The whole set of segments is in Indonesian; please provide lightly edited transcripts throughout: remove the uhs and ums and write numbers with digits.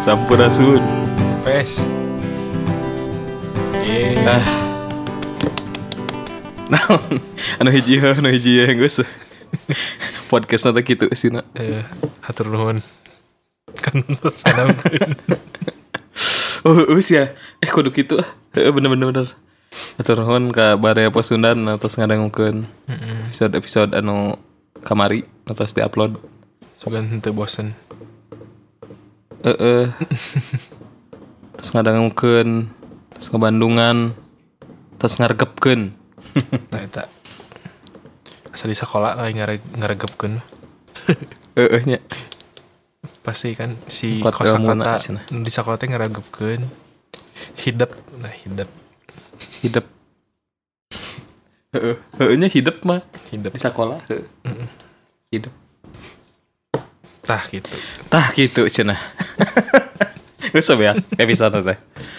Sampurasun. Pes. Anu hiji geus. Podcast nanti gitu sih nak. Hatur nuhun. Kan sanamkeun. Ya. Kudu kitu ah. Bener. Hatur nuhun ka Baraya Pasundan atas ngadangukeun episode anu kamari atas di-upload. Sugan henteu bosen. Terus ngadangukeun, terus ngebandungan, terus ngaregepkeun. Nah eta. Asa di sekolah lagi ngaregepkeun. Nya. Pasti kan si Kuat kosakata ilmuna, di sekolah teh ngaregepkeun. Hidep. Hidup. Nya hidup mah. Hidep. Di sekolah. Hidup. Tah gitu cenah. Geus ya episode teh.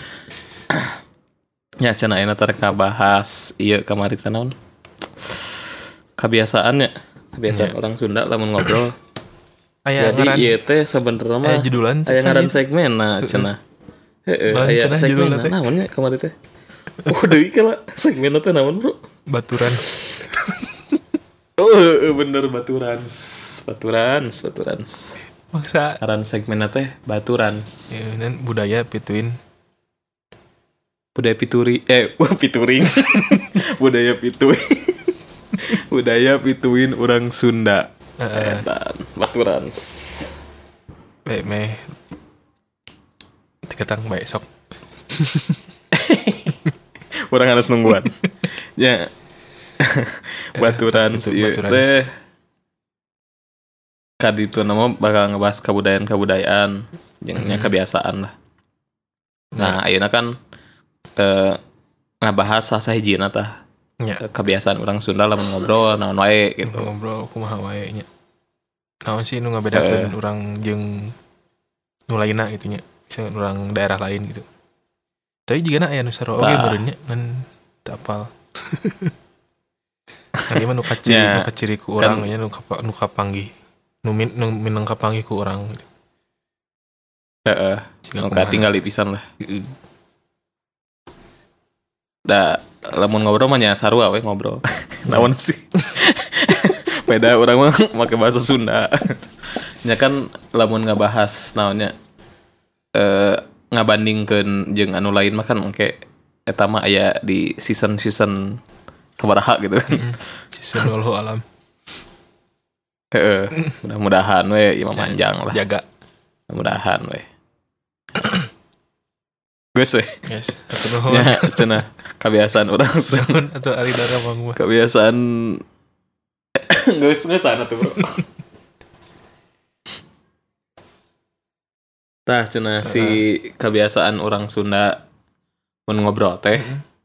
Ya cenah ayeuna teh kabahas ieu kamari teh naon? Kebiasaan orang Sunda lamun ngobrol. Jadi ieu teh sabenerna mah judulan teh aya ngaran segmenna cenah. Aya segmenna naon nya kamari teh? Deui kala segmenna teh naon, Bro? Baturans. Bener Baturans. Maksa Aran segmenna teh Baturans. ya dan budaya pituin. Budaya pituring. Budaya pituin orang Sunda. Baturans. Meh tiketang bae sok. Orang harus nungguan. Ya. Baturans ieu teh kaditu nama bakal ngebahas kebudayaan jeung kebiasaan lah. Nah, ayeuna kan ngabahas sasahijina tah. Kebiasaan orang Sunda lamun ngobrol naon wae gitu. Ngobrol kumaha wae nya. Naon sih nu ngabedakeun urang jeung nu lainna gitu nya. Misalnya urang daerah lain gitu. Tapi jigana aya nu saro oge meureun nya ngan teu apal. Kan ieu mah nu kaciri ku urang nya nu kapanggih. Nu minang kapanggih ku urang. Nggak tinggal pisan lah. Da lamun ngobrol mah nya sarua we ngobrol. Naon sih? Beda urang mah make bahasa Sunda. Nya kan lamun ngabahas naonnya ngabandingkeun jeung anu lain mah kan engke eta mah aya di season sabaraha gitu kan. Season wallahu alam. Mudah-mudahan we imam panjang lah. Jaga. Mudah-mudahan we. Geus we. Yes. Atuh nuhun. Ya, cenah kebiasaan orang Sun atau ari dara mangwa. Kebiasaan geus sana tuh, Bro. Tah cenah si kebiasaan orang Sunda mun ngobrol teh.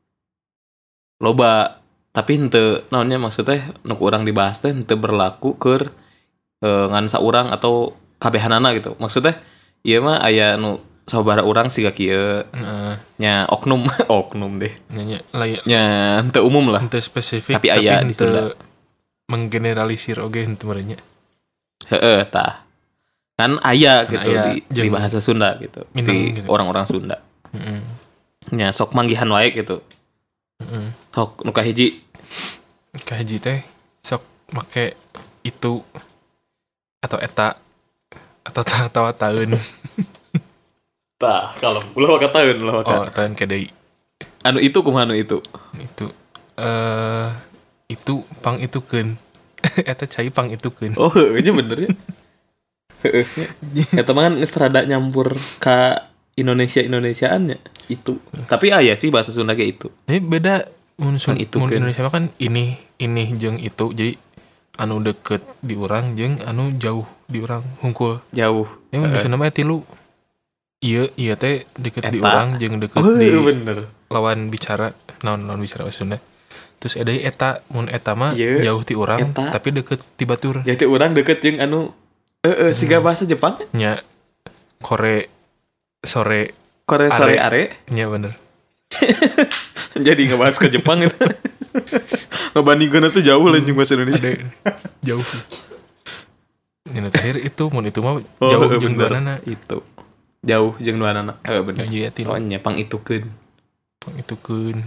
Loba tapi henteu naonnya maksudnya nu urang dibahas teh henteu berlaku keur ngan saurang atau kabehanana gitu. Maksudnya ieu mah aya nu sabaraha urang siga kieu. Nya oknum deh. Nya henteu umum lah. Henteu spesifik tapi aya di Sunda. Menggeneralisir oge henteu meureun nya. Tah. Kan aya gitu di bahasa Sunda gitu. Di gitu. Orang-orang Sunda. Nya sok manggihan wae gitu. Sok nu kahiji teh sok make itu atau eta atau taun. Tah, kalau ulah maka tahun. Oh, tahun ke deui. Anu itu kumaha anu itu? Itu pang itukeun. Eta cai pang itukeun. Oh, nya bener ya. Eta mah kan geus rada nyampur ka Indonesiaan-nya itu. Tapi aya sih bahasa Sunda ge itu. Tapi beda mun Itukeun. Indonesia mah kan ini jeung itu. Jadi anu deket di urang jeung anu jauh di urang hungkul. Jauh. Ya mun di Sunda mah tilu. Iya teh deket Eta. di urang jeung deket di bener. lawan bicara naon bicara bahasa Sunda. Terus ada eta mun eta mah jauh ti urang tapi deket ti batur. Jadi urang deket jeung anu siga bahasa Jepang nya sore are. Nya bener. Jadi ngebahas ke Jepang itu. Ngebandingkeun tuh jauh lah jeung bahasa Indonesia. Jauh. Yang terakhir itu mun itu mah jauh jeung duanana itu. jauh jeung duanana. Bener. Ngajiatin. Soalnya pangitukeun. Pangitukeun.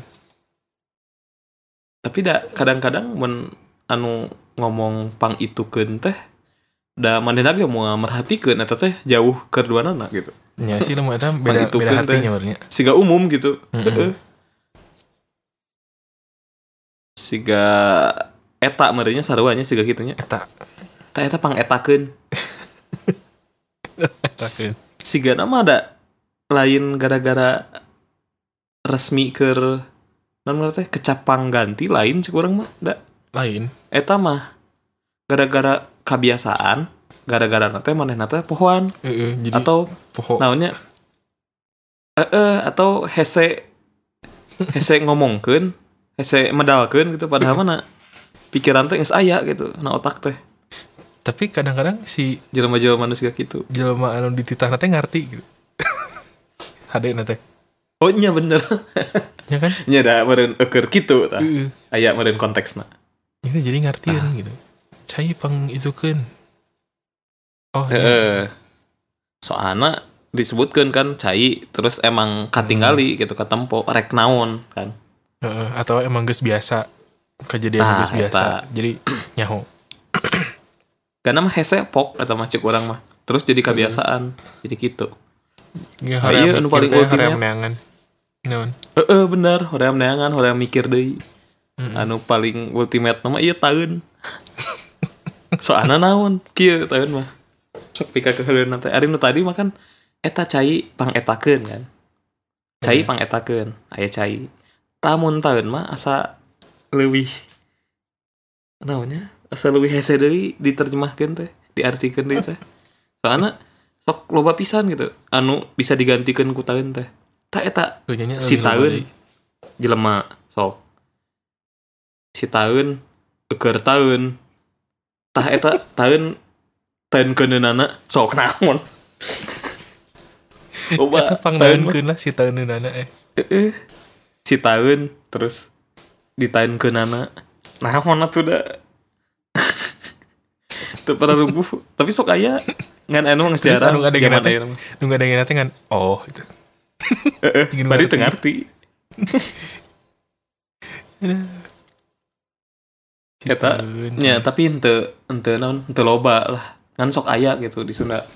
Tapi kadang-kadang mun anu ngomong pangitukeun teh da manehna ge moal merhatikeun eta teh jauh keur duanana gitu. Nya sih lemah eta beda artinya barunya. Siga umum gitu. Heeh. Siga eta meureunnya sarua nya siga kitu nya. Eta pangetakeun. Etakeun. Siga nama ada lain gara-gara resmi keur naon teh kecap pangganti lain cek urang mah da. Lain. Eta mah gara-gara kebiasaan, gara-gara teh manehna teh pohoan. Jadi atau poho. Naonnya atau hese ngomongkeun, hese medalkeun gitu padahal mana pikiran teh geus aya gitu na otak teh. Tapi kadang-kadang si jelema-jelema manusia gitu. Jelema anu dititahna teh ngarti gitu. Hadena teh. Oh nya bener. Ya kan? Nya da meureun keur kitu tah. Aya meureun konteksna. Itu jadi ngartieun gitu. Cai pang itukeun. Oh soalna disebutkeun kan cai terus emang katinggali gitu katempo rek naon kan. Atau emang geus biasa kejadian geus biasa. Jadi nyaho. Karena mah hese pok atau macik orang mah. Terus jadi kebiasaan. Jadi gitu. Ya, iya anu paling ultimate. Naon? Bener, hoream neangan, hoream mikir deui. Anu paling ultimate mah ieu taeun. Soalna naon? Kieu taeun mah. Sok pika keheuleuan teh. Ari nu tadi mah kan eta cai pangetakeun kan. Cai pangetakeun, aya cai. Lamun taeun mah asa leuwih naonnya? Asa leuwih hese deui diterjemahkeun teh, diartikeun deui teh. Soalna sok loba pisan gitu. Anu bisa digantikeun ku taeun teh. Ta eta si taeun jelema sok. Si taeun keur taeun. Tah eta taeun keuneunaana sok naon. Loba eta pangnaeunkeun lah si taeunana Si taeun terus ditaeunkeunana. Naon atuh da? Teu pernah rubuh, tapi sok aya ngan anu geus jarang. Anu ngadengeun teh. Nu ngadengeun teh ngan oh gitu. Bari teu ngarti. Eta nya tapi henteu naon, henteu loba lah. Kan sok aya gitu di Sunda.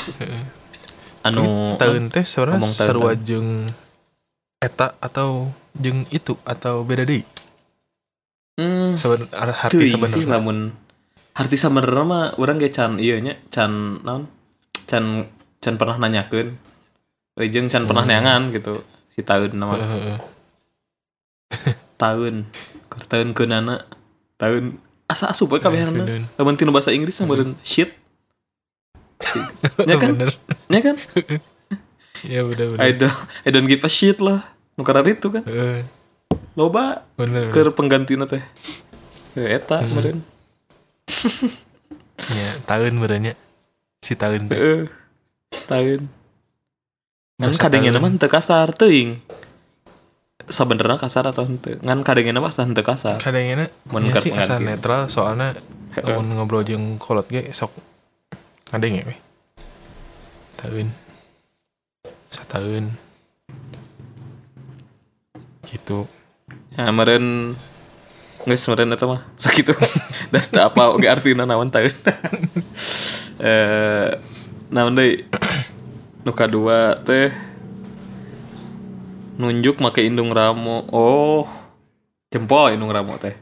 Anu taeun teh sebenarnya sarua jeung eta atau jeung itu atau beda deui. Arti sabenerna lamun arti sabenerna mah urang ge can ieu nya can naon? Can pernah nanyakeun. Jeung can pernah neangan gitu si taeun nama. Taeun keunana. Taeun asa asup we kabehanana. Lamun tinu bahasa Inggris meureun shit. Ya kan? Ya kan? Ya bener. I don't give a shit lah. Nu karena itu kan. Loba keur penggantina teh. Eta meureun. Ya, taeun meureunnya. Si taeun teh. Taeun. Ngan kadengeuna mah teu kasar teuing. Sabenerna kasar atau henteu? Ngan kadengeuna mah asa henteu kasar. Kadengeuna sih asa netral soalna mun ngobrol jeung kolot ge sok ngadenge we. Taeun. Sataeun. Gitu. Ya meureun geus meureun eta mah sakitu. Da teu apa oge artina naon taeun. Naon deui? Nu kadua teh nunjuk make indung ramo. Oh. Jempol indung ramo teh.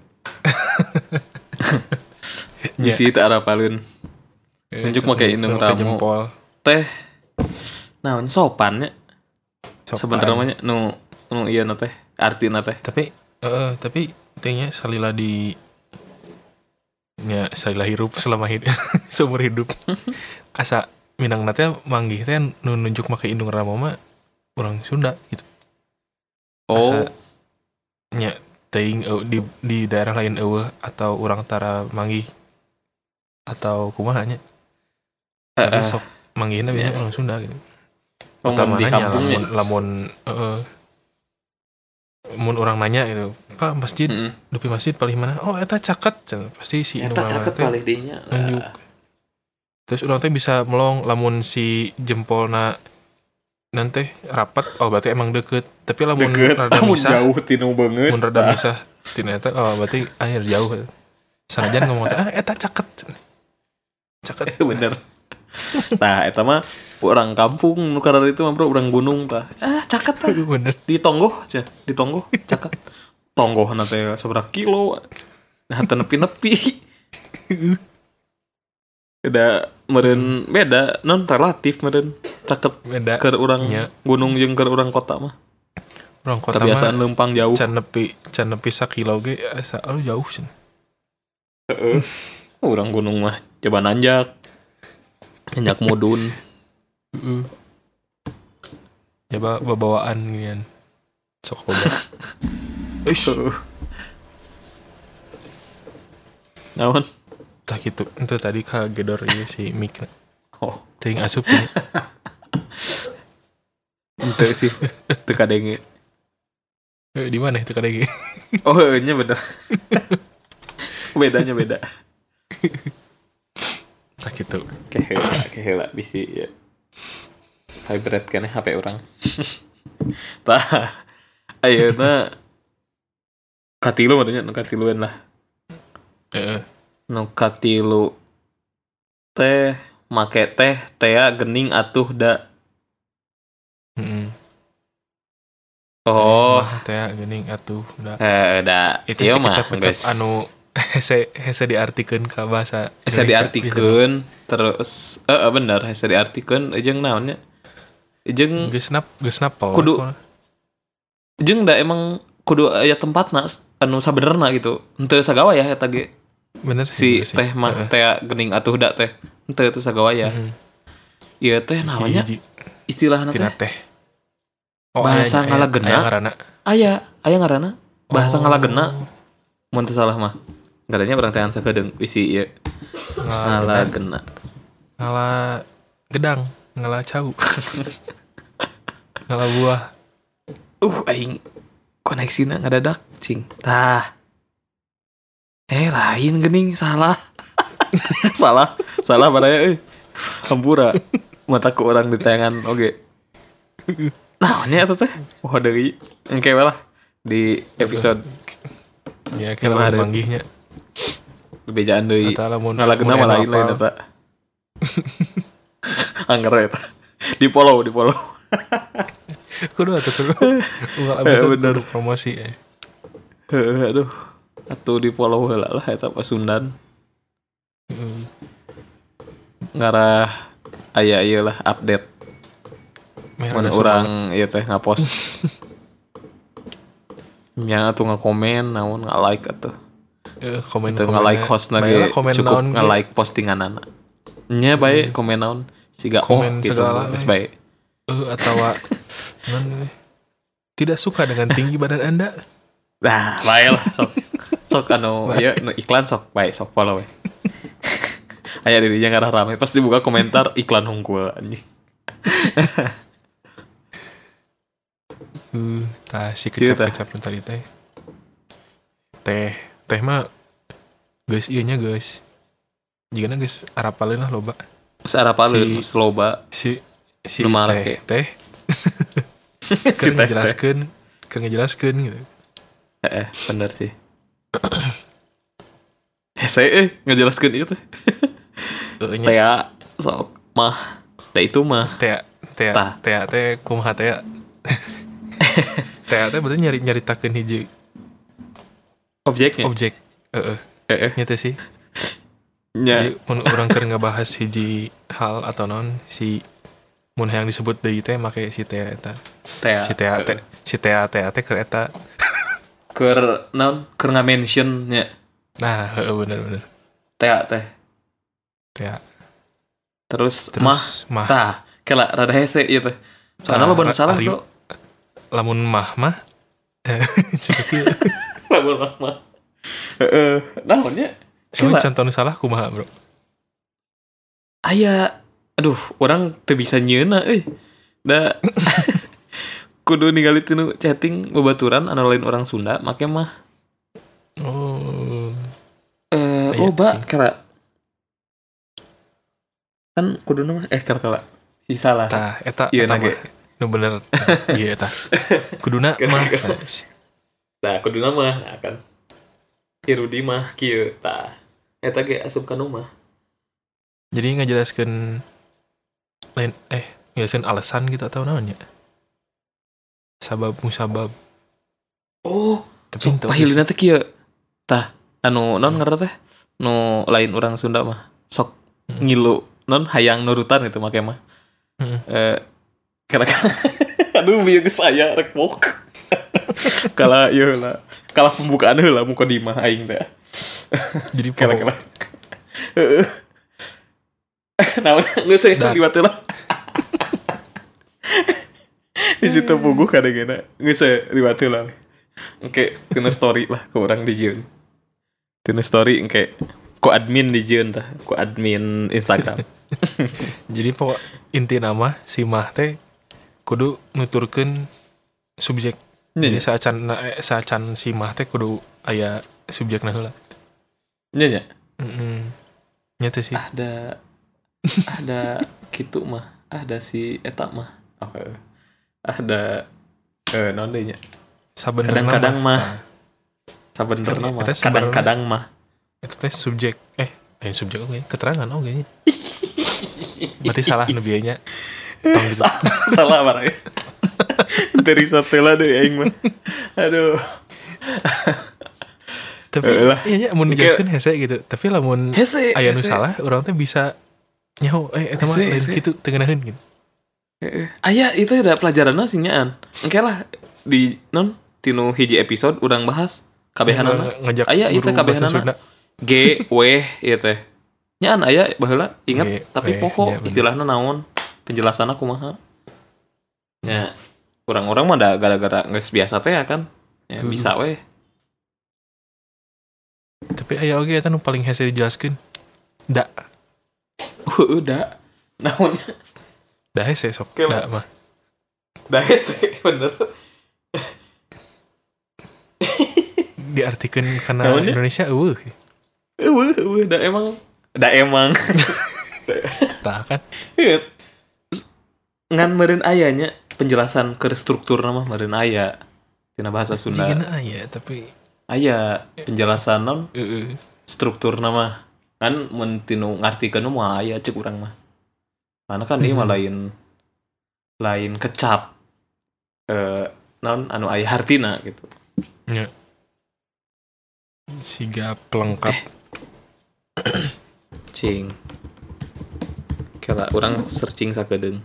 Bisi teu arapaleun. Nunjuk make indung ramo. Jempol. Teh naon sopan nya. Sebenarnya nu ieu na teh artina teh. Tapi tehnya salila hirup selama hidup seumur hidup. Asa minangna teh manggih teh nu nunjuk make indung ramo mah urang Sunda gitu. Oh. Nya teuing di daerah lain eueuh atau urang tara manggih atau kumaha nya. Tapi sok manggihna biasanya urang Sunda gitu. Di kampungnya lamun mun orang nanya gitu, Pak masjid, dupi masjid paling mana? Oh eta caket, pasti si indung ramo teh paling dinya nunjuk. Terus orang teh bisa melong lamun si jempolna nanti rapat berarti emang deket tapi lah mun Deket, rada mun misah jauh tinu banget. mun rada misah ternyata berarti akhir jauh sanajan ngomong eta caket Bener. Nah, eta mah orang kampung nu karena itu mah bro, orang gunung tah. Caket tah. bener Di Tonggoh aja, di Tonggoh caket. Tonggoh teh seberapa kilo. Nah, teu nepi-nepi. Beda non relatif meureun caket beda keur urang nya. gunung jeung keur urang kota mah. orang kota Kebiasaan mah leumpang jauh. can nepi sakilo ge asa jauh sih Heeh. Urang gunung mah coba nanjak mudun. coba bawaan ginian sok coba Naon? tah gitu itu tadi kagedor ieu si mic Oh, teuing asup nya. ente sih teu kadenge. Di mana itu kadang Oh, nya bener. Bedanya beda. tah gitu Keheula bisi ya. Hybrid kan HP orang. Tah. Ayeuna katilu maksudnya nu katiluan lah. Nu katilu teh make teh gening atuh da. Oh, teh gening atuh udah da. itu sih kecap-kecap anu hese diartikeun ka bahasa hese diartikeun terus bener hese diartikeun jeung naonnya jeung geus napal kudu jeung da emang kudu aya tempatna anu sabenerna gitu henteu sagawaya eta ge bener si sih, teh mah teh gening atuh da teh henteu teu sagawaya ieu teh namanya istilahna teh bahasa ngalageuna aya ngaranna bahasa ngalageuna mun teu salah mah katanya urang teh sakedeung isi ieu ngalageuna ngala gedang ngala cau ngala buah aing koneksina ngadadak cing tah lain geuning salah salah badaya hampura mataku orang di tayangan oge naonnya eta teh deui engke we lah di episode ya kira manggihnya bejaan deui ngalageuna mah lain eta angger eta di follow kudu unggal episode bener promosi aduh atuh di follow heula lah eta Pasundan ngarah aya ieu lah update mana orang ieu teh ngapost nya atuh ngakomen naon nga-like atuh komen nga-like hostna ge cukup nga-like postinganana nya bae komen naon siga gitu geus bae atawa tidak suka dengan tinggi badan Anda. Nah, bae lah sok anu ieu iklan sok bae sok follow we. Aya di dinya ngarah rame pas dibuka komentar iklan hungkul anjing. Tah si kecap-kecap tadi teh. Teh mah geus ieu nya geus. Jigana geus arapaleun lah loba. Geus arapaleun loba. Si teh. Si Keur ngejelaskeun gitu. Bener sih. Saya ngejelaskeun ieu teh. Tea sok mah. Da itu mah. Tea kumaha tea. Tea berarti nyaritakeun hiji objeknya. Objek. Nya teh sih. Nya mun urang keur ngabahas hiji hal atau non si mun yang disebut deui teh make si tea eta. Si tea teh keur eta. Keur naon? Keur nga-mention nya. Nah, bener. Tea. Terus mah. Tah, kela rada hese ieu teh. Soalna lo bener salah, Bro. Lamun mah. Lamun mah. Naonnya? Emang contoh salah kumaha, Bro? Aya aduh, orang teu bisa nyeuna euy. Da kudu ningali tinu chatting babaturan anu lain orang Sunda make mah. Loba kala. Kan kuduna mah kala. Si salah. Tah eta mah. Nu bener iya tah. Kuduna mah Nah, kudu nama akan Hirudi mah kieu tah. Eta ge asup ka nu mah. jadi ngajelaskeun lain ngejelasin alasan gitu atau naon ya. Sabab musabab. Oh, Tapi ente pahilina teh kieu. Tah, anu naon ngaranna teh? Nu lain orang Sunda mah. Sok ngilu non hayang nurutan gitu make mah. Kira-kira aduh bieu geus aya rek pok. Kala ieu lah. Kala pembukaan heula mukodimah aing teh. jadi Kira-kira. Heeh. Naon geus saya liwat heula. Di situ puguh kadang-kadang geus saya liwat heula. Oke, kena story lah ke orang di Jun. Kena story engke ku admin di Jun tah, ku admin Instagram. jadi pokok inti nama si mah teh kudu nuturkeun subjek. Jadi saacan si mah teh kudu aya subjekna heula. Nya nya. Nya teh sih. Ada kitu mah, ada si eta mah. Ada naon deui nya. Kadang-kadang mah. Sabenerna mah. Kadang-kadang mah. Itu teh subjek subjek oke, keterangan oke nya. Berarti salah nu bieu nya. Salah barang. Dari satela deui aing mah. Aduh. Tapi iya nya mun dijelaskeun hese gitu. Tapi lamun aya nu salah, urang teh bisa nyaho eta mah lain kitu teu ngeunaheun gitu. Aya itu ada pelajaranna sih nyaan. Engke lah di non tinu hiji episode urang bahas kabehanana. Aya itu kabehanana. G W ieu teh. Nyaan aya baheula ingat tapi pokok istilahna naon penjelasanna kumaha. Ya orang-orang mah da gara-gara geus biasa teh kan. Ya bisa we. Tapi aya oge eta nu paling hese dijelaskeun. Da. Udah. Naonnya? Da hese sok. Da mah. Da hese bener. Diartikeun kana Indonesia eueuh. Da emang. Tah kan. Ngan meureun ayanya penjelasan ke struktur nama meureun aya tina bahasa Sunda. Jigana aya tapi aya penjelasan non struktur nama kan mun tinu ngartikeun mah aya ceuk urang mah. Karena kan ieu mah lain kecap non anu aya hartina gitu. Nya. Siga pelengkap. Cing. Kala urang searching sakedeung.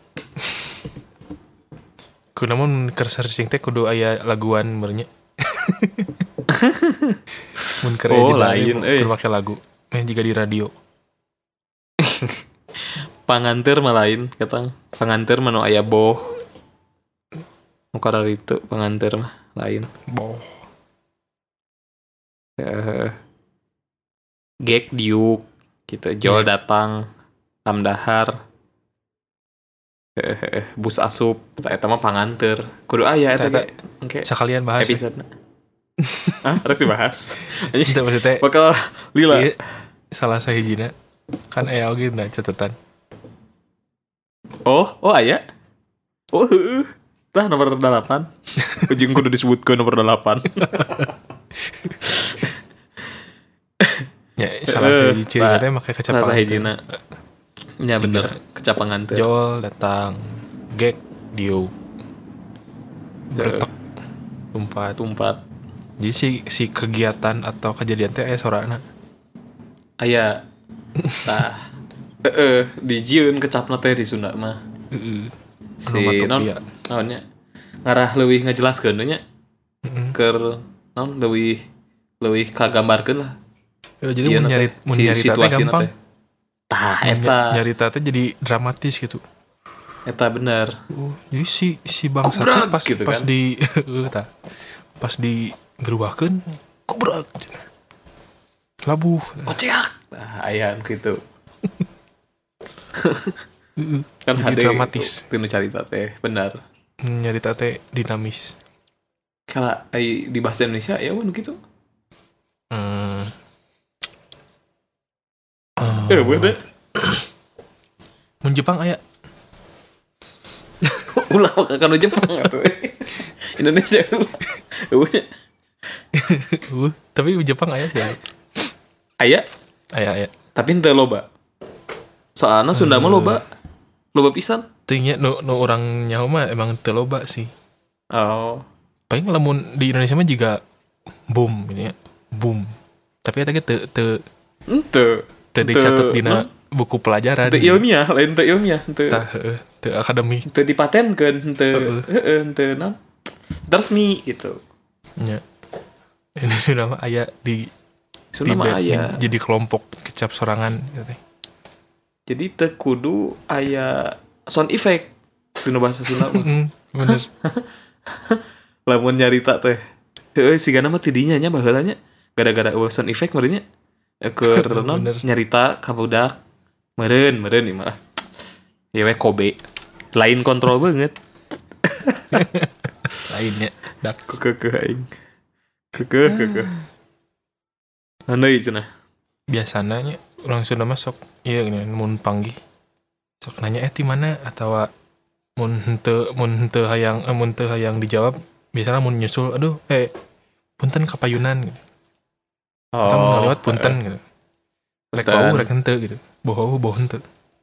Kunamun keur searching teh kudu aya laguan beurnya. Mun keur lain keur make lagu. Jika di radio. Panganteur mah lain katang. Panganteur mah nu aya boh. Nu kararitu panganteur mah lain. Boh. Gek diuk gitu. Jol datang. Tamdahar. Bus asup eta mah panganteur. Kudu aya eta ge. Engke sakalian bahas episode. Rek dibahas. Itu maksudnya bakal lila. Iya, salah sahijina kan aya oge na catatan. Oh aya. Oh heueuh. Tah nomor 8. Ujung kudu disebutkeun nomor 8. Ya salah hiji ciri teh make kecap salah sahijina. Ya bener, kecap panganteur. Jol datang, gek diuk. Bertek tumpat. Jadi si kegiatan atau kejadian teh aya sorana. Aya. Tah. Di jieun kecapna teh di Sunda mah. Si naonnya ngarah leuwih ngajelaskeun nya. Keur naon leuwih kagambarkeun lah. Jadi mun nyarita teh gampang. Tah eta nyarita teh jadi dramatis gitu. Eta bener. Jadi si bangsa teh pas gitu pas kan? Di pas di gerubahkeun kubrak. Labuh. Koceak. Aya gitu. Kan jadi dramatis. Tinu carita teh bener. Nyarita teh dinamis. Kala di bahasa Indonesia ya mun gitu. Bener. Mun Jepang aya. Ulah kanu Jepang atuh. Indonesia. Eueuh. Tapi Jepang aya sih. Aya, Aya. tapi henteu loba. Soalna Sunda mah loba. Loba pisan. Teu nya nu urang nyaho mah emang teu loba sih. Oh. Paling lamun di Indonesia mah juga boom gitu ya. Boom. Tapi eta ge teu Henteu. dicatat dina buku pelajaran. Henteu ilmiah, lain teu ilmiah, henteu. Teu akademik. Henteu dipatenkeun, henteu henteu naon. Resmi gitu. Nya. Ini sudah mah aya di Sunda mah aya. Jadi kelompok kecap sorangan gitu. Jadi teu kudu aya sound effect dina bahasa Sunda mah. Bener. Lamun nyarita teh. Heueuh sigana mah tidinya nya baheula nya gara-gara sound effect meureun nya. Keur naon nyarita ka budak meureun ieu mah. Ya we Kobe. Lain kontrol banget. Lainnya dak Kekeh aing. Kekeh. Andai cenah. biasanya orang Sunda mah sok iya gini mun panggih sok nanya ti mana atau mun henteu hayang dijawab biasanya mun nyusul aduh punten kapayunan gitu. Atau mun ngaliwat punten gitu. Rek bau rek henteu gitu. Boho henteu.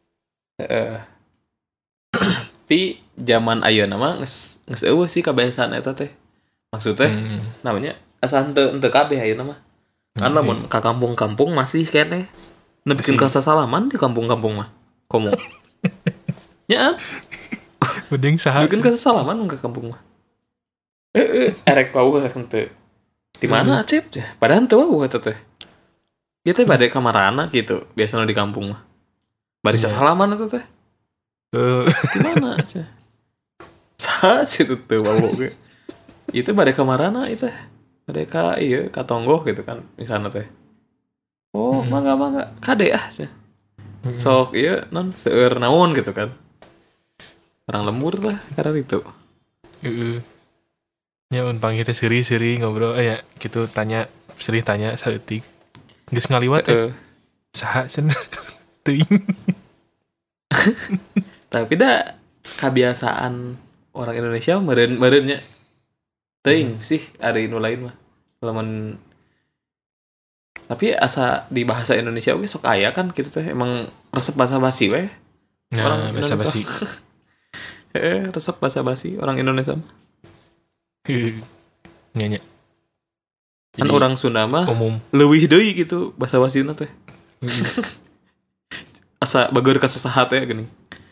Tapi zaman ayeuna mah geus eueuh sih kebiasaan eta teh. Maksudnya namanya asa henteu kabeh ayeuna mah. Kan lamun ka kampung-kampung masih keneh nepikeun ka sasalaman di kampung-kampung mah. Komo. Nya Mending saha. nepikeun ka sasalaman ka kampung mah. Erek bau rek henteu. Di mana Acep? Padahal henteu bau eta teh. Ieu teh bade ka marana gitu, biasana di kampung mah. Bari sasalaman eta teh. Di mana aja? Saha situ teu bau ge. Itu bade ka marana itu. Bade ka ieu ka tonggoh gitu kan misalna teh. Oh, mangga kade cenah. Sok ieu non seueur naon gitu kan. Orang lembur tah karena itu. Heeh. Ya un panggil teh seri ngobrol ya gitu tanya saeutik. Geus ngaliwat saha cenah. Teuing. Tapi dah kebiasaan orang Indonesia meureunnya teuing sih ari nu lain mah. Lamun tapi asa di bahasa Indonesia oge sok aya kan gitu teh emang resep basa-basi we. Nah, basa-basi. Resep basa-basi orang Indonesia mah. Nya. Kan orang Sunda mah umum leuwih deui gitu basa-basina teh. Asa bageur ka sasaha teh geuning.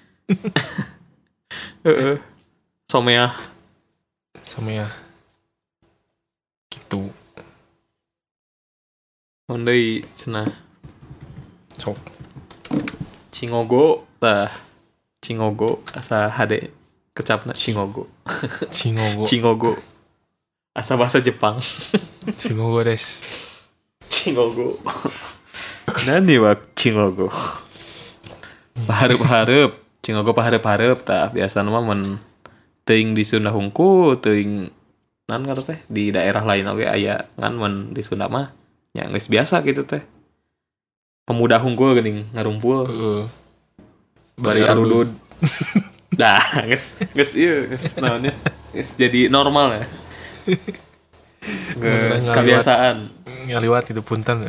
Someah gitu. Ondei cenah. Sok. Cingogo asa hade kecapna Cingogo. Asa bahasa Jepang. Cingogo des. Cingogo. Nani wa Cingogo. Pahareup Cingogo pahareup tah biasana mah mun teuing di Sunda hungkul teuing nan ngaran teh di daerah lain oge aya ngan mun di Sunda mah nya geus biasa gitu teh. Pemuda hungkul geuning ngarumpul. Bari arudud. Dah, geus ieu geus naonnya. Geus jadi normal ya. Geus kebiasaan. Ngaliwat itu punten.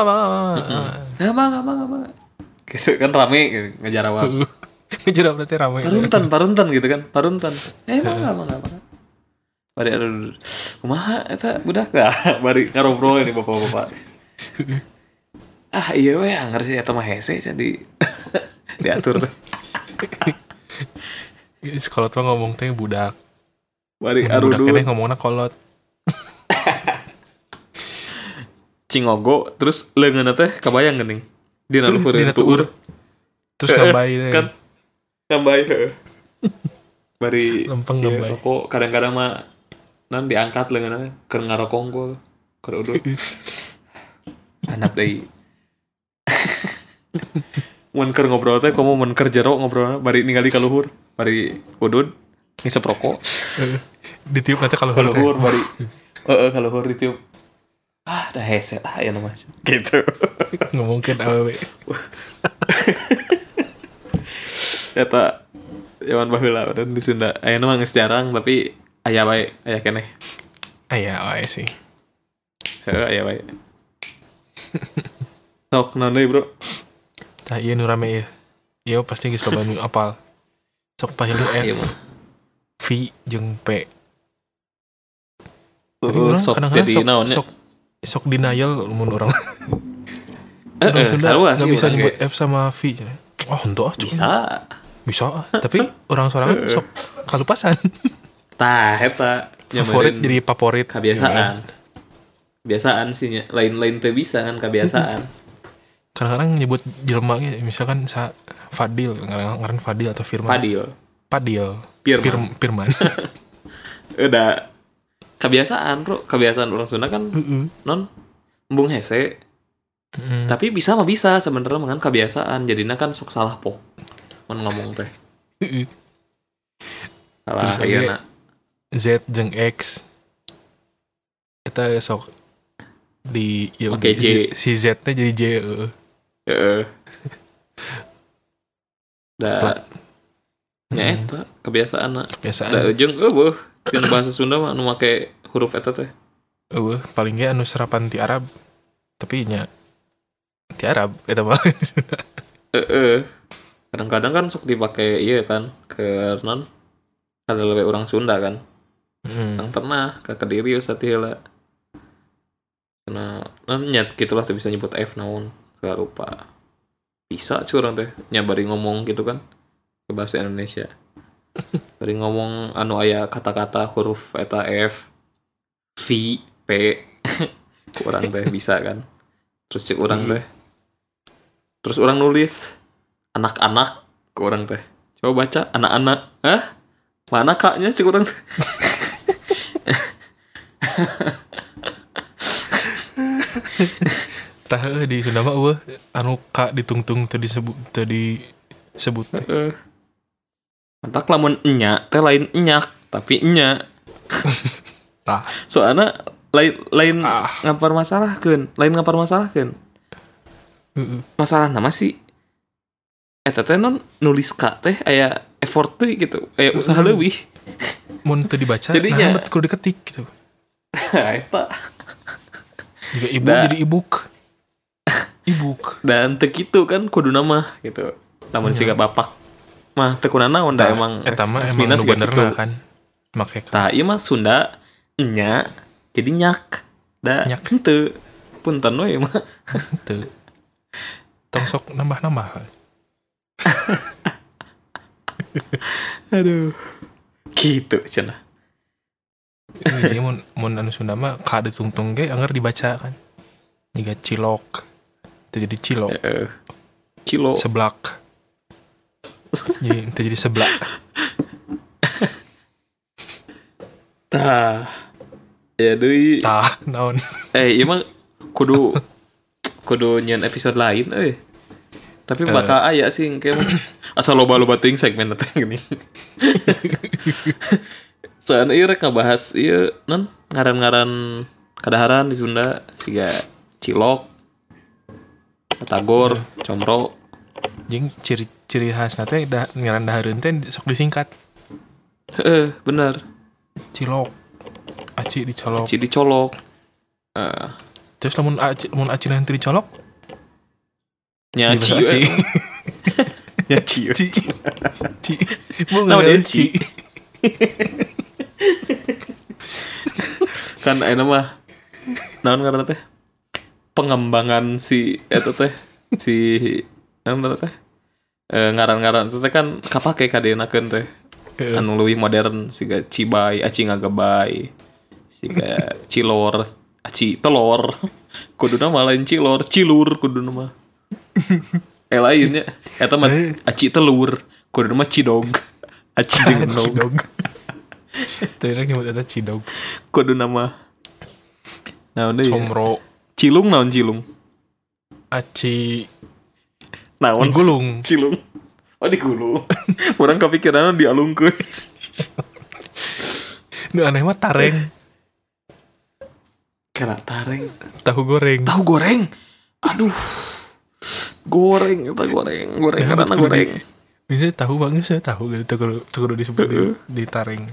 Bangga. Gitu kan rame gitu, ngejarawab. Ngejarawab berarti rame. Paruntan gitu kan. Paruntan. Bangga. Bari aduh. Kumaha eta budak dah. Bari ngarobrol ini bapak-bapak. Iya we anger sih eta mah hese jadi diatur teh. Sekolot mah ngomong teh budak. Bari arudu. Budak keneh ngomongna kolot. Cingogo terus leungeunna teh kabayang geuning. Dina luhur tuur. Terus ngambai teh. Kan ngambai heuh. Bari lempeng ngambai. Rokok kadang-kadang mah nan diangkat leungeunna keur ngarokong gua. Keur udud. Anak deui. Mun keur ngobrol teh komo mun keur jero ngobrolna bari ningali ka luhur, bari udud ngisep rokok. Ditiup nanti ka luhur bari. Ka luhur ditiup. Dah hese ya nama gitu. Ngomongkeun awewe. Eta Zaman baheula udah di Sunda. Ayeuna mah geus jarang tapi aya bae, aya keneh. Aya wae sih. Heeh, aya bae. Sok naon deui, Bro? Tah ieu nu rame ieu. Ieu pasti geus loba nu apal. Sok pahilu F, Ieu mah. V jeung P. Tapi Heeh, orang sok kadang-kadang jadi naon nya? sok denial mun orang. Orang Sunda sarua nggak sih bisa urang nyebut ge. F sama V. Oh, henteu ah. Bisa. Tapi orang sorangan sok kalupasan. Tah eta Favorit jadi favorit. kebiasaan. Kebiasaan sih nya. Lain-lain teu bisa kan kebiasaan. Kadang-kadang nyebut jelema ge misalkan Fadil, ngaran Fadil atau Firman. Padil. Firman. Udah kebiasaan, Bro. Kebiasaan orang Sunda kan non embung hese. Tapi bisa mah bisa sebenarnya dengan kebiasaan. Jadinya kan sok salah po. Mun ngomong teh. Salah Terus ayeuna. Z jeung X. Kita sok di ya Oke, J. si Z nya jadi J. Heeh. Da nya eta kebiasaan. Kebiasaan. Da jeung eueuh dina bahasa Sunda mah nu make huruf eta teh. Paling ge anu serapan ti Arab. Tapi nya ti Arab eta mah. Kadang-kadang kan sok dipake ieu kan ke non kada leuwih urang Sunda kan. Yang pernah ke Kediri usah heula. Karena nyat gitulah tuh bisa nyebut F naon gak rupa. Bisa curang teh nyabari ngomong gitu kan ke bahasa Indonesia. Bari ngomong anu aya kata-kata huruf eta F, V, P. Urang teh bisa kan. Terus cek urang teh. Terus urang nulis anak-anak ke urang teh. Coba baca anak-anak. Hah? Mana kaknya cek urang teh. Tah di Sunda mah eueuh anu ka ditungtung teu disebut. Mantak lamun enya teh lain enyak tapi enya. Tah. Soalnya lain ngapar masalahkeun, Masalah nama sih eta teh non nulis ka teh aya effort teh gitu, aya usaha leuwih. Mun teu dibaca Jadinya nah kudu diketik gitu. Eta. Juga ibu jadi ibuk. Dan teu kitu kan kudu nama gitu. Namun siga bapak mah teu kunana naon da emang eta mah minus emang bener gitu. kan. Make Tah ieu mah Sunda nya jadi nyak. Da Nyak. henteu. Punten we mah. teu. Tong sok nambah-nambah. Aduh. Gitu cenah. Jadi mun anu Sunda mah ka ditungtung ge anger dibaca kan. Jiga cilok. Itu jadi cilok. Kilo. Seblak. Jadi itu jadi seblak. Tah. Ya deui. Tah, naon. Ieu mah kudu nyeun episode lain euy. Tapi bakal aya sih engke mah. Asal loba-loba teuing segmen teh gini. Soalnya ieu rek ngabahas ieu non ngaran-ngaran kadaharan di Sunda siga cilok, batagor, comro. Jeung ciri khasna teh ngaran dahareun teh sok disingkat. Heeh, bener. Cilok. Aci dicolok. Aci dicolok. Terus lamun aci nanti dicolok Nyaci. Nyaci. Ci. Mau nyaci. Kan ayeuna mah naon ngaranna teh? Pengembangan si eta teh si naon ngaranna teh? Ngaran-ngaran teh kan kapake kadenakeun teh. Anu leuwih modern siga cibay, aci ngagebay. Siga cilor, aci telor. Kuduna mah lain cilor, cilur kuduna mah. Lainnya eta mah aci telur, kuduna mah cidog. Aci jeung cidog. Tadi nyebut eta cidog. Kuduna mah naon deui? Comro. Cilung naon cilung? Aci Naon? digulung. Cilung. Oh digulung. Urang kepikiran dialungkeun. Nu aneh mah tareng. Kena tareng. Tahu goreng. Aduh. Goreng. Karena goreng. Bisa tahu banget saya tahu gitu tuh disebut di taring.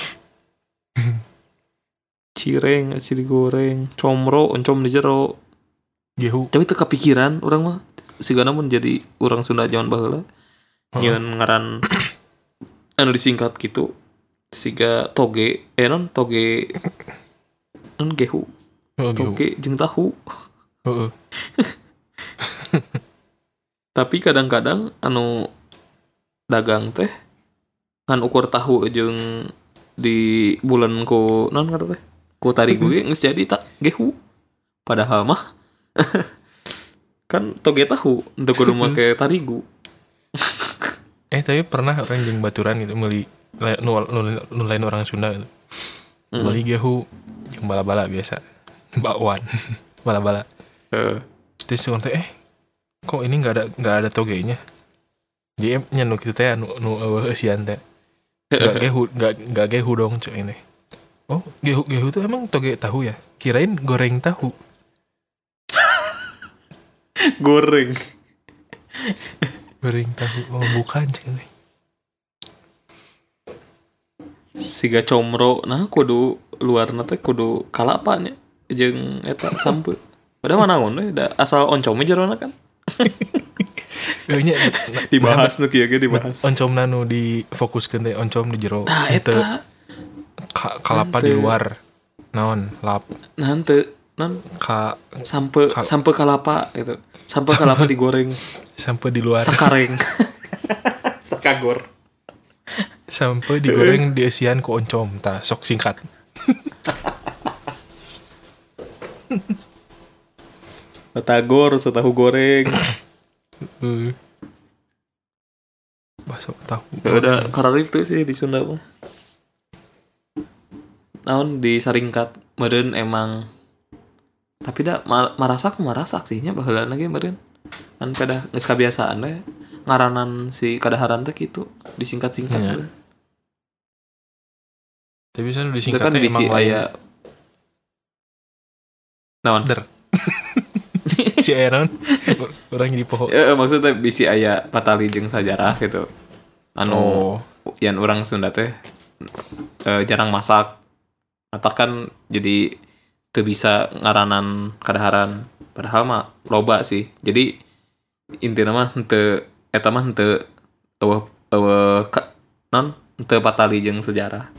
Cireng, aci digoreng, comro, oncom di jero. Gehu. Tapi teu kepikiran urang mah sigana mun jadi urang Sunda zaman baheula. Nyeun ngaran anu disingkat gitu. Siga toge, non toge non gehu. Toge jeung tahu. Heeh. Tapi kadang-kadang anu dagang teh kan ukur tahu jeung di bulan ku non kata teh ku tarigu ge geus jadi tak gehu padahal mah kan toge tahu untuk kudu make tarigu. Tapi pernah orang jeung baturan gitu meuli nu lain orang Sunda gitu. Meuli gehu jeung bala-bala biasa bakwan bala-bala terus orang teh kok ini nggak ada togenya GM nya nu kitu teh nu eueusian teh nggak gehu dong cuy ini. Oh gehu tuh emang toge tahu ya, kirain goreng tahu. goreng tahu, oh bukan cuy ini. Siga comro nah kudu luarna teh kudu kalapa nya jeung eta sampeu padahal mah naon we da asal oncom jerona kan. Dibahas nu kieu ge dibahas. Oncomna nu difokuskeun teh oncom di jero. Tah eta kalapa di luar. Naon? Lap. Nah henteu non sampe kalapa gitu. Sampe kalapa digoreng. Sampe di luar. Sakareng. Sakagor. Sampe digoreng dieusian ku oncom. Tah sok singkat. Batagor, tahu goreng. Bakso tahu. Udah kararik tuh sih di Sunda mah. Naon disaringkat meureun emang. Tapi da marasak sih nya baheula ge meureun. Kan pada geus kabiasaan we ngaranan si kadaharan teh kitu disingkat-singkat. Ya. Tapi bisa disingkat kan emang aya naon? Si aya naon? Urang jadi poho. Maksudnya bisi aya patali jeung sajarah gitu. Anu yang orang Sunda teh jarang masak. Atau kan jadi teu bisa ngaranan kadaharan. Padahal mah loba sih. Jadi intina mah henteu eta mah henteu non henteu patali jeung sejarah.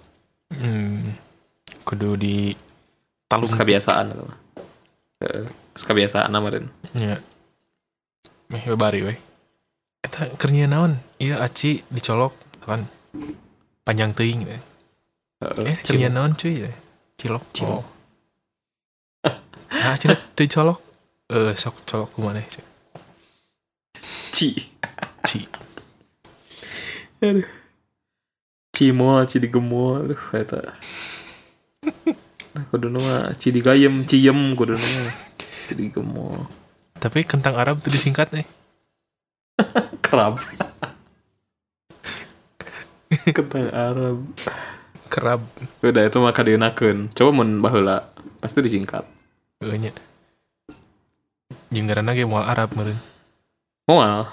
Kudu di talung kebiasaan eta mah. Kebiasaan meureun. Nya. Meh bari we. Eta keur nyieun naon? Ieu aci dicolok kan. Panjang teuing we. Keur nyieun naon cuy? Cilok. Oh. Nah, cenah teu colok. Sok colok kumaneh. Ci. Aduh. Cimol, ci digemol, aduh eta. Kuduna mah ci digayem, ciem kuduna mah. Ci digemol. Tapi kentang Arab tuh disingkat nih. Kerab. Kentang Arab. Kerab. Udah itu mah kadeunakeun. Coba mun baheula pasti disingkat. Nya. Jeung ngaranna ge moal Arab meureun. Moal.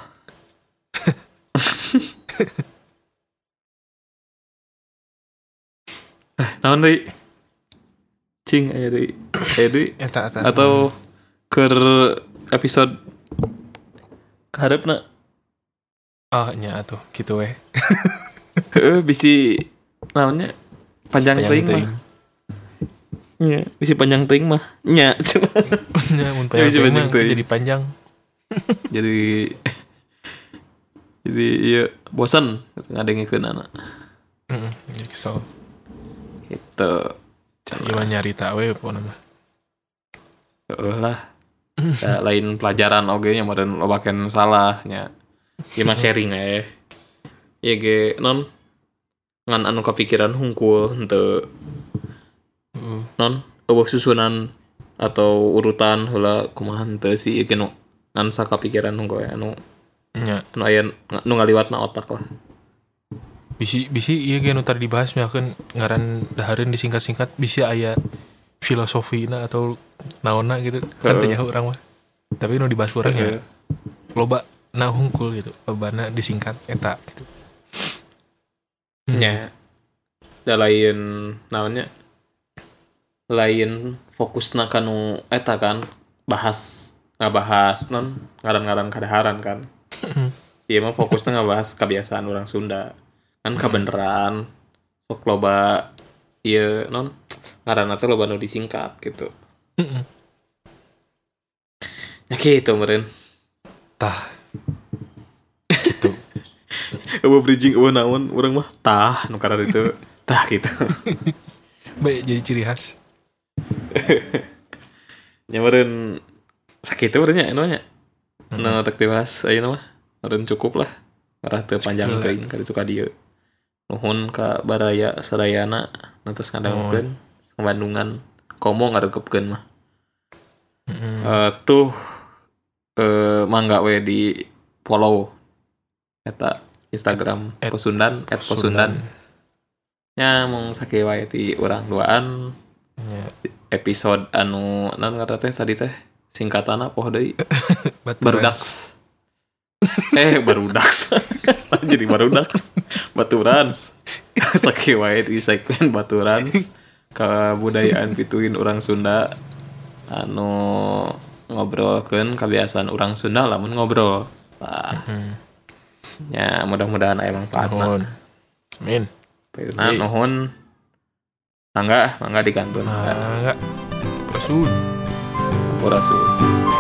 Naon deui? Cing aya deui. Eta. Atau keur episode kaharepna. Nya atuh kitu we. Bisi naonnya panjang teuing mah. Nya, bisi panjang teuing mah. Nya cuma. Nya mun panjang teuing mah jadi panjang. jadi iya bosan ngadengikeun anak. Jadi kesel. Itu gimana nyarita we pokona mah. Lah. Lain pelajaran oge nya meureun lobakeun salahnya. Ieu mah sharing we. Ieu ge non ngan anu kepikiran hungkul henteu non eueuh susunan atau urutan heula kumaha henteu sih ieu ge nu ngan sakapikiran hungkul anu nya nu aya nu ngaliwatna otak lah. Bisi ieu ge nu tadi dibahas misalkan ngaran dahareun disingkat-singkat bisi aya filosofina atau naonna gitu kan teh urang mah. Tapi nu dibahas urang ya loba nah hungkul gitu lobana disingkat eta gitu. nya da lain naonnya lain fokusna kanu eta kan ngabahas non ngaran-ngaran kadaharan kan. Ieu mah fokusna ngabahas kebiasaan orang Sunda kan kabeneran sok loba ieu non ngaranna teh loba nu disingkat gitu. Ya gitu meureun. Tah gitu. Eueuh bridging eueuh naon urang mah tah nu karena itu tah gitu. Baik jadi ciri khas. Nya meureun sakitu meureun nya anu nya. Nu tek dibahas ayeuna mah meureun cukup lah. Ngarah teu panjang teuing ka ditu ka dieu. Nuhun ka baraya sadayana nantos ngadangukeun Bandungan komo ngaregepkeun mah. Tuh mangga we di follow eta Instagram Posundan @posundan. Nya mung sakieu wae ti urang duaan. Episode anu naon ngaranna teh tadi teh singkatanna poho deui. Barudaks. Barudaks. Jadi barudaks. Baturans. Sakieu wae di segmen Baturans kabudayaan pituin urang Sunda anu ngobrolkeun kebiasaan urang Sunda lamun ngobrol. Ya mudah-mudahan aya manfaatna. Amin. Nah, nuhun. Mangga digantun. Mangga. Rasul. Rasul.